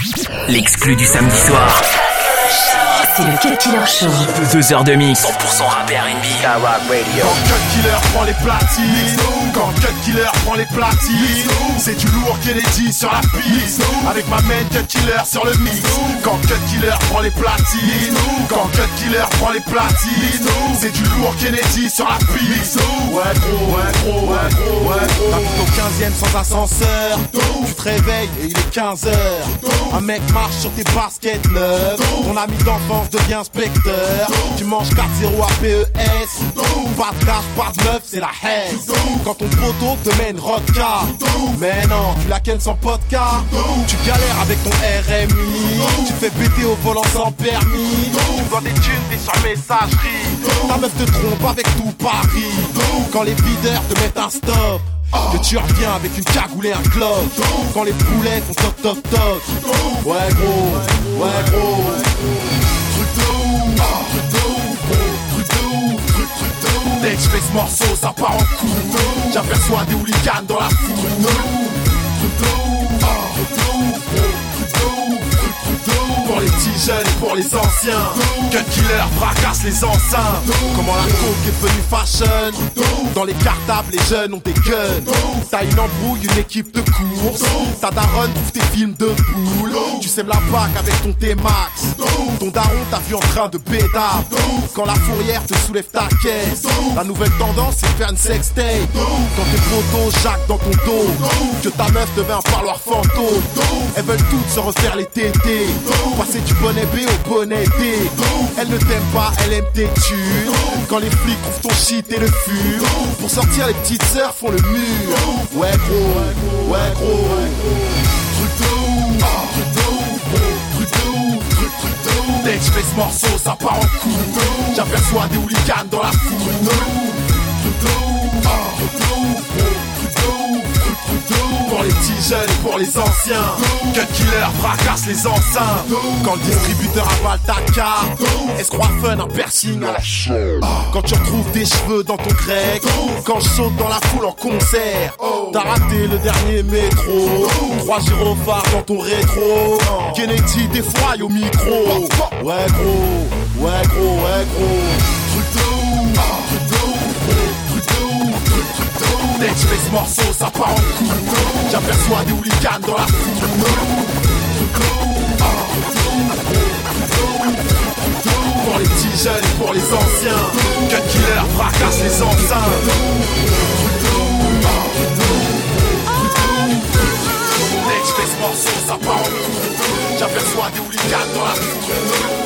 L'exclu du samedi soir. C'est le Cut Killer Show. 2 heures de mix. 100% rap et R&B. Skyrock Radio. Quand Cut Killer prend les platines, quand Cut Killer prend les platines, c'est du lourd Kennedy sur la piste. Avec ma main Cut Killer sur le mix. Quand Cut Killer prend les platines, quand Cut Killer prend les platines, c'est du lourd Kennedy sur la piste. Ouais gros, ouais gros, ouais gros, ouais gros. T'habites au 15e sans ascenseur. Tu te réveilles et il est 15h. Un mec marche sur tes baskets neuves. Ton ami d'enfance devient inspecteur. Tu manges 4-0 à PES. Pas de cash, pas de meuf, c'est la haine. Quand ton poteau te met une rodka. Mais non, tu la kennes sans podcast. Tu galères avec ton RMI. Tu fais péter au volant sans permis. Tu dois des thunes, t'es sur messagerie. Ta meuf te trompe avec tout Paris. Quand les videurs te mettent un stop, que tu reviens avec une cagoule et un cloche. Quand les poulets font toc toc toc. Ouais gros, ouais gros. Truc de ouf. Dès que je fais ce morceau, ça part en coups. J'aperçois des hooligans dans la foule. Pour les petits jeunes et pour les anciens, Cut Killer fracasse les enceintes. Comment la coke est devenue fashion. Dans les cartables, les jeunes ont des guns. T'as une embrouille, une équipe de course. Ta daronne trouve tes films de poule. Tu sèmes la bac avec ton T-Max. Ton daron t'a vu en train de bédard. Quand la fourrière te soulève ta caisse. La nouvelle tendance c'est de faire une sextape. Quand tes potos jacques dans ton dos. Que ta meuf devait un parloir fantôme. Elles veulent toutes se refaire les tétés. Passer du bonnet B au bonnet D. Elle ne t'aime pas, elle aime tes thunes. Quand les flics trouvent ton shit et le fument. Pour sortir les petites sœurs font le mur. Ouais gros, ouais gros. Truc de ouf, truc de ouf. Dès que je fais ce morceau ça part en coups. J'aperçois des hooligans dans la foule. Truc de ouf, pour les petits jeunes et pour les anciens, Cut Killer fracasse les enceintes. Quand le distributeur avale ta carte, elle se croit fun, un piercing à la chaîne. Quand tu retrouves tes cheveux dans ton grec. Quand je saute dans la foule en concert. T'as raté le dernier métro. 3 gyrophares dans ton rétro. Kennedy défroille au micro. Ouais gros, ouais gros, ouais gros. Truc de ouf, dès que je fais ce morceau, ça part en coups. J'aperçois des hooligans dans la foule. Pour les petits jeunes et pour les anciens, Cut Killer fracasse les enceintes. Dès que je fais ce morceau, ça part en coups. J'aperçois des hooligans dans la foule.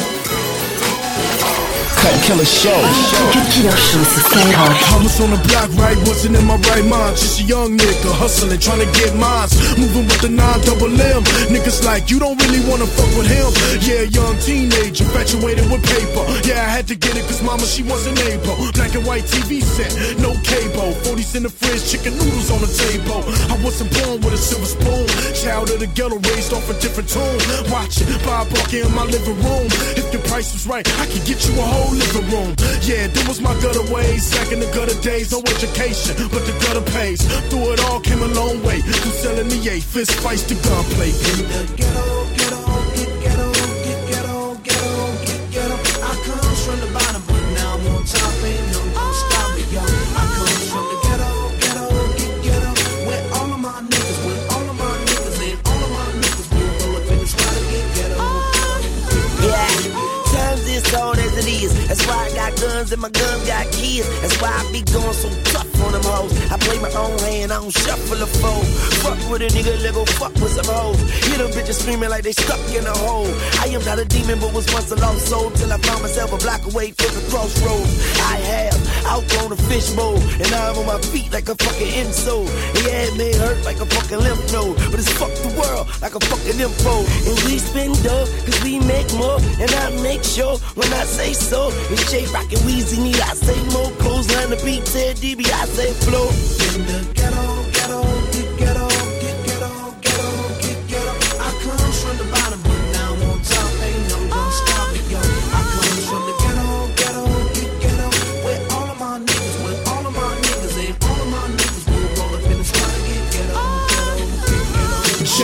Cut Killer Show. Cut Killer Show, c'est Skyrock. I was on the block, right, wasn't in my right mind. Just a young nigga hustling, trying to get mines. Moving with the 9-double-M. Niggas like, you don't really wanna fuck with him. Yeah, young teenager, infatuated with paper. Yeah, I had to get it cause mama, she wasn't able. Black and white TV set, no cable. 40s in the fridge, chicken noodles on the table. I wasn't born with a silver spoon. Child of the ghetto, raised off a different tune. Watch it, Bob Barker in my living room. If the price was right, I could get you a whole living room. Yeah, that was my gutter ways. Back in the gutter days, no education, but the gutter pays. Through it all, came a long way. From selling the 8 fist fights to gunplay. In the ghetto, ghetto, get ghetto, get ghetto, ghetto, get ghetto. I come from the bottom, but now I'm on top. Ain't no gonna stop me, yo. I come from the ghetto, ghetto, get ghetto. Where all of my niggas, where all of my niggas, and all of my niggas will go up in the spot and get ghetto. Yeah. As old as it is. That's why I got guns and my guns got kids. That's why I be going so tough on them hoes. I play my own hand, I don't shuffle a foe. Fuck with a nigga, let go fuck with some hoes. Hear them bitches screaming like they stuck in a hole. I am not a demon, but was once a lost soul. Till I found myself a block away from the crossroads. I have outgrown a fishbowl, and now I'm on my feet like a fucking insole. And yeah, it may hurt like a fucking lymph node, but it's fuck the world like a fucking info. And we spend dough, cause we make more, and I make sure when I say so, it's J Rock and Weezy need I say more. Clothesline the beat, Ted DB, I say flow. In the ghetto, ghetto, get ghetto, get ghetto, ghetto, get ghetto. I come from the bottom, but now I'm on top. Ain't no gonna stop me, yo. I come from the ghetto, ghetto, get ghetto. Where all of my niggas, where all of my niggas, and all of my niggas will roll up in the spot and get ghetto, ghetto, get ghetto. J Rock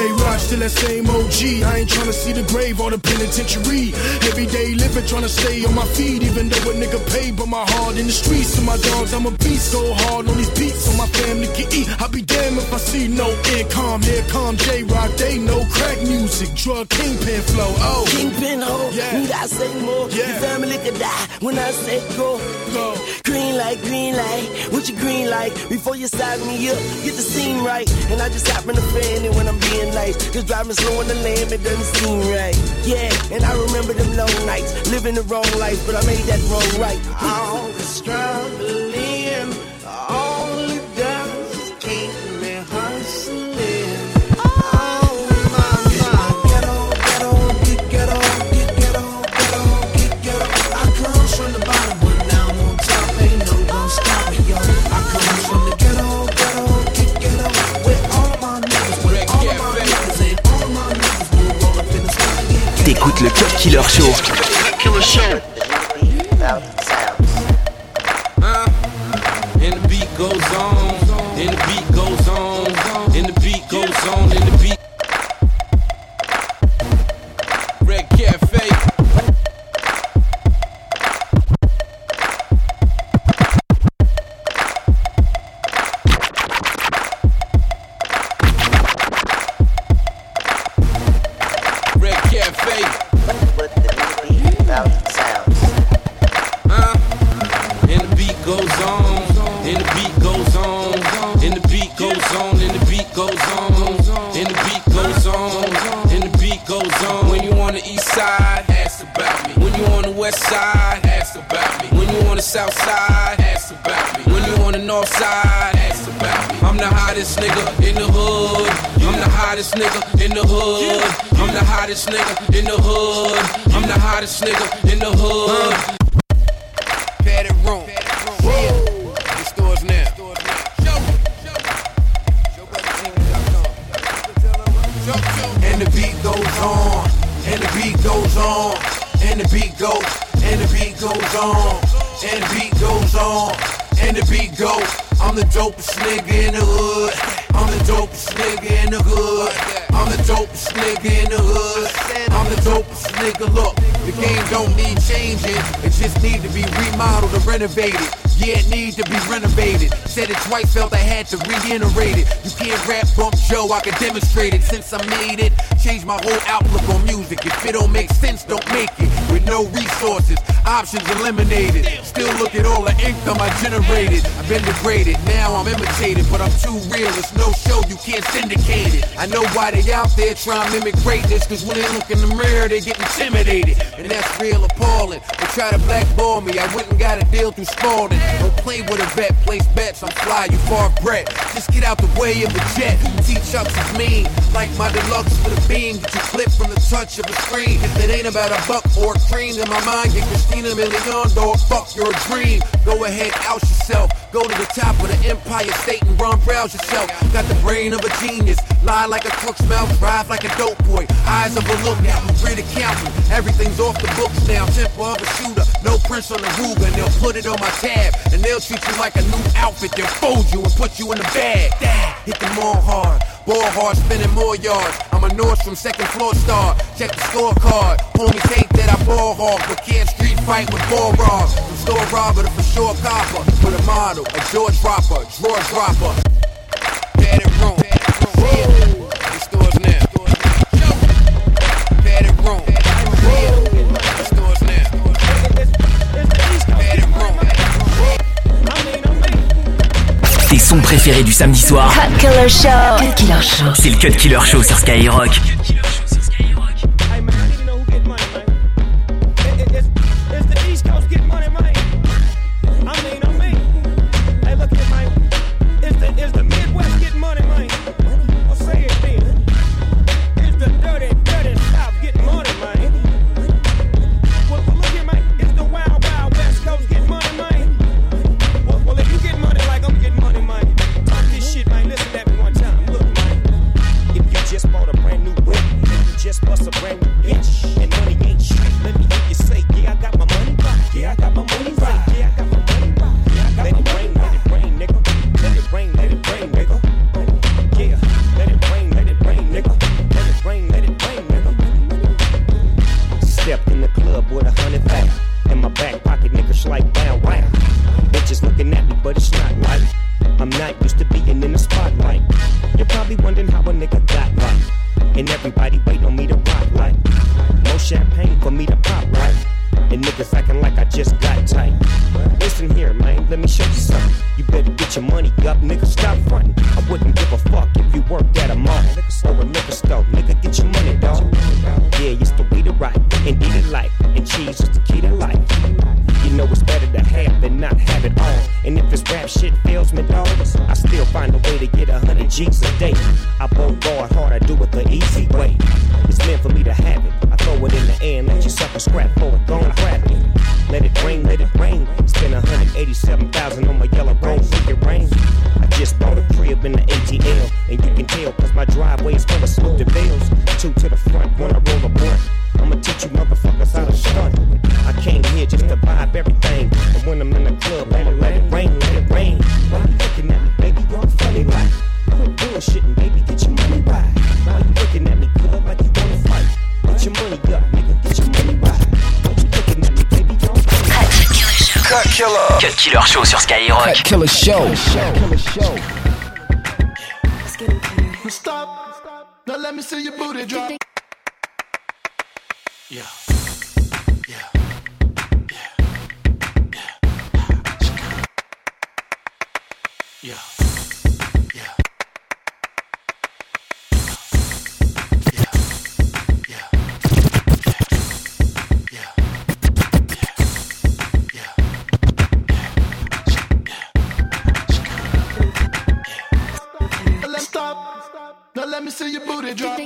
still that same OG. I ain't tryna see the grave or the penitentiary. Everyday living, tryna stay on my feet, even though a nigga paid, but my heart in the streets. So my dogs, I'm a beast, go hard on these beats so my family can eat. I'll be damned if I see no income. Here come J-Rock, they know crack music, drug kingpin flow. Oh, Kingpin ho, yeah. Need I say more? Yeah. Your family could die when I say go. go. Green light, what you green light? Before you size me up, get the scene right. And I just hop in the fan and when I'm being nice, just driving slow on the lane, it doesn't seem right. Yeah, and I remember them long nights, living the wrong life, but I made that wrong right. All the struggling, all it does is keep me hustling. From the bottom, but now I'm on top. Ain't no gon' stop me, yo. I come from the ghetto, ghetto, with all of my niggas, with all of my niggas, and all of my niggas will roll up in the sky. T'écoutes le Cut Killer Show. And the beat goes on, and the beat goes on, and the beat goes on, and the beat. Red Cafe. Southside, ask about me. When you on the north side, ask about me. I'm the hottest nigga in the hood. I'm the hottest nigga in the hood. I'm the hottest nigga in the hood. I'm the hottest nigga in the hood. Padded room. The stores now. And the beat goes on. And the beat goes on. And the beat goes. And the beat goes on. And the beat goes on, and the beat goes. I'm the dopest nigga in the hood. I'm the dopest nigga in the hood. I'm the dopest nigga in the hood. I'm the dopest nigga. Look, the game don't need changing. It just need to be remodeled or renovated. Yeah, it needs to be renovated. Said it twice, felt I had to reiterate it. You can't rap bump Joe, I can demonstrate it. Since I made it, changed my whole outlook on music. If it don't make sense, don't make it. With no resources, options eliminated. Still look at all the income I generated. I've been degraded, now I'm imitated. But I'm too real, it's no show, you can't syndicate it. I know why they out there trying to mimic greatness. Cause when they look in the mirror, they get intimidated. And that's real appalling. They try to blackball me, I went and got a deal through Spalding. Don't play with a vet, place bets, I'm fly, you far bred. Just get out the way of a jet. T-Chucks is mean, like my deluxe with a beam. Get you clipped from the touch of a screen. If it ain't about a buck or a cream, in my mind, get Christina Milian, dog, fuck your dream. Go ahead, out yourself. Go to the top of the Empire State and run, browse yourself. Got the brain of a genius, lie like a crook's mouth, drive like a dope boy. Eyes of a lookout, great accountant. Everything's off the books now, temper of a shooter. No prints on the Ruger, and they'll put it on my tab. And they'll treat you like a new outfit. They'll fold you and put you in the bag. Hit them all hard, ball hard, spinning more yards. I'm a Nordstrom second floor star. Check the scorecard. Homies hate that I ball hog, but can't street fight with ball robbers. From store robber to for sure copper. With a model, a George dropper, drawer dropper. Padded room. The stores now. Padded room. The stores now. Padded room. Tes sons préférés du samedi soir. Cut Killer Show. Cut Killer Show. C'est le Cut Killer Show sur Skyrock. Just bought a brand new whip. I'm not used to being in the spotlight. You're probably wondering how a nigga got right. And everybody wait on me to rock like. More champagne for me to pop right. And niggas acting like I just got tight. Listen here, man, let me show you something. You better get your money up, nigga, stop frontin'. I wouldn't give a fuck if you worked at a mall or a liquor store. Nigga, get your money, dawg. Yeah, it's the way to right, indeed it life. And cheese is the key to life. You know it's better to have than not have it all. And if this rap shit fails me, dawg, I still find a way to get 100 G's a day. I won't go hard, I do it the easy way. It's meant for me to have it. I throw it in the air and let you sucker scrap for it. Go and grab it. Let it rain, let it rain. Spend 187,000 on my yellow rose, make it rain. I just bought a crib in the ATL, and you can tell cause my driveway is full of Snoop DeVille's. 2 to the front, when I roll a blunt. I'ma teach you motherfuckers how to stunt. I came here just to vibe everything, and when I'm in the club, I'ma let it rain, let it rain. Why you looking at me, baby? You're funny like. Quit bullshitting, baby, get your money right. Why you looking at me, club, like you wanna fight? Get your money up, nigga, get your money right. Why you looking at me, baby? You're Cut Killer. Cut Killer Show sur Skyrock. Cut Killer Show. Stop. Now let me see your booty drop. Yeah. Now let me see your booty drop.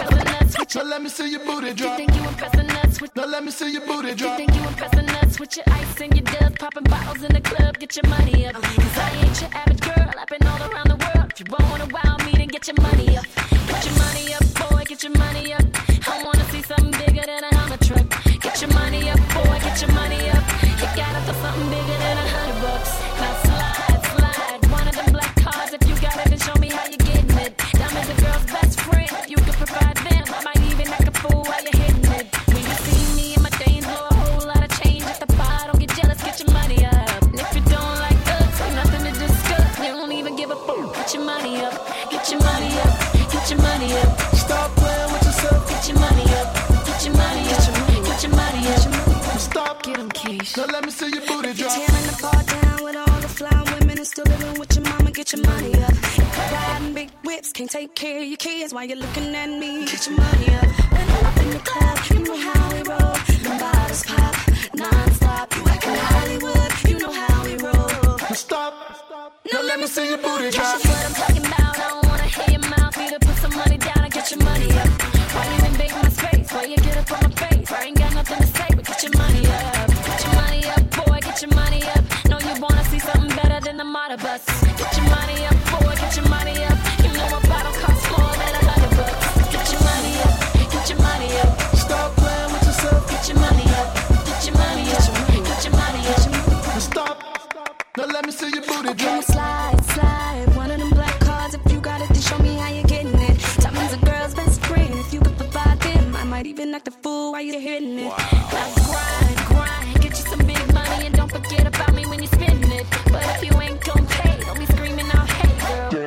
Now let me see your booty drop. You think you impressing us with? Now let me see your booty drop. You think you impressing us with your ice and your dubs, popping bottles in the club, get your money up. Cause I ain't your average girl, I've been all around the world. If you wanna wow me, then get your money up. Get your money up, boy, get your money up. I wanna see something bigger than a Hummer truck. Get your money up, boy, get your money up. You gotta for something bigger than $100. Now slide, one of them black cards. If you got it, then show me how you getting it. Diamonds a girl's best friend. If you could provide them, I might even act a fool while you're hitting it. When you see me and my things blow a whole lot of change at the bar, don't get jealous, get your money up. And if you don't like us, ain't nothing to discuss. You don't even give a fuck. Get your money up, get your money up, get your money up. Stop playing with yourself. Get your money up, get your money up, get your money up. Stop. Get 'em, Keish. Now let me see your booty drop. Tearing the bar down with all the fly women and still living with your mama. Get your money up. Riding big whips, can't take care of your kids while you're looking at me. Get your money up. When I'm up in the club, you know how we roll. Them bottles pop non-stop. You acting Hollywood, you know how we roll. Stop. Now let me see your booty drop. That's what I'm talking about. I don't wanna hear your mouth. Either put some money down or get your money up. Why you invade my space? Why you get up on my face? I ain't got nothing to say, but get your money up. Get your money up, boy, get your money up. Know you wanna see something better than the model bus. Get your money up, boy, get your money up. You know a bottle costs more than $100. Get your money up, get your money up. Stop playing with yourself. Get your money up, get your money up, get your money up. Stop. Now let me see your booty Can you drop. slide, one of them black cards. If you got it, then show me how you're getting it. Diamonds a girl's best friend. If you could provide them, I might even act a fool while you're hitting it. Now grind, get you some big money and don't forget about me when you're spending it. But if you ain't gon' pay, don't be screaming out, hey girl.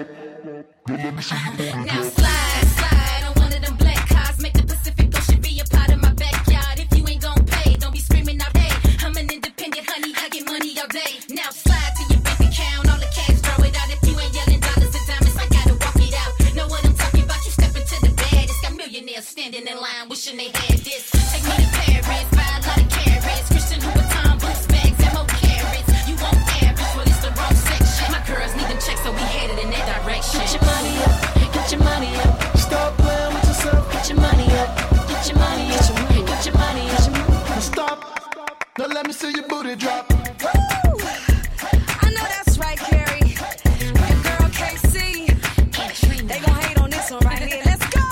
Now slide on one of them black cars. Make the Pacific Ocean be a part of my backyard. If you ain't gon' pay, don't be screaming out, hey. I'm an independent honey, I get money all day. Now slide to your bank account, all the cash, throw it out. If you ain't yelling dollars and diamonds, I gotta walk it out. Know what I'm talking about? You step into the bed, it's got millionaires standing in line, wishing they had this. Take me to Paris, buy a lot of carrots. Christian Louboutin, boots, bags, and more carrots. You want average, well it's the wrong section. My girls need them checks, so we headed in that direction. Get your money up, get your money up. Stop playing with yourself. Get your money up, get your money up, get your money up. Stop. Now let me see your booty drop. Woo! I know that's right, Carrie. Your girl KC. They gon' hate on this one right here. Let's go.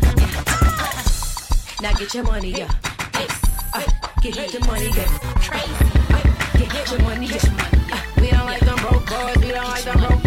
Now get your money up. Get your money up. Get your money up. We don't like them broke boys. We don't like them broke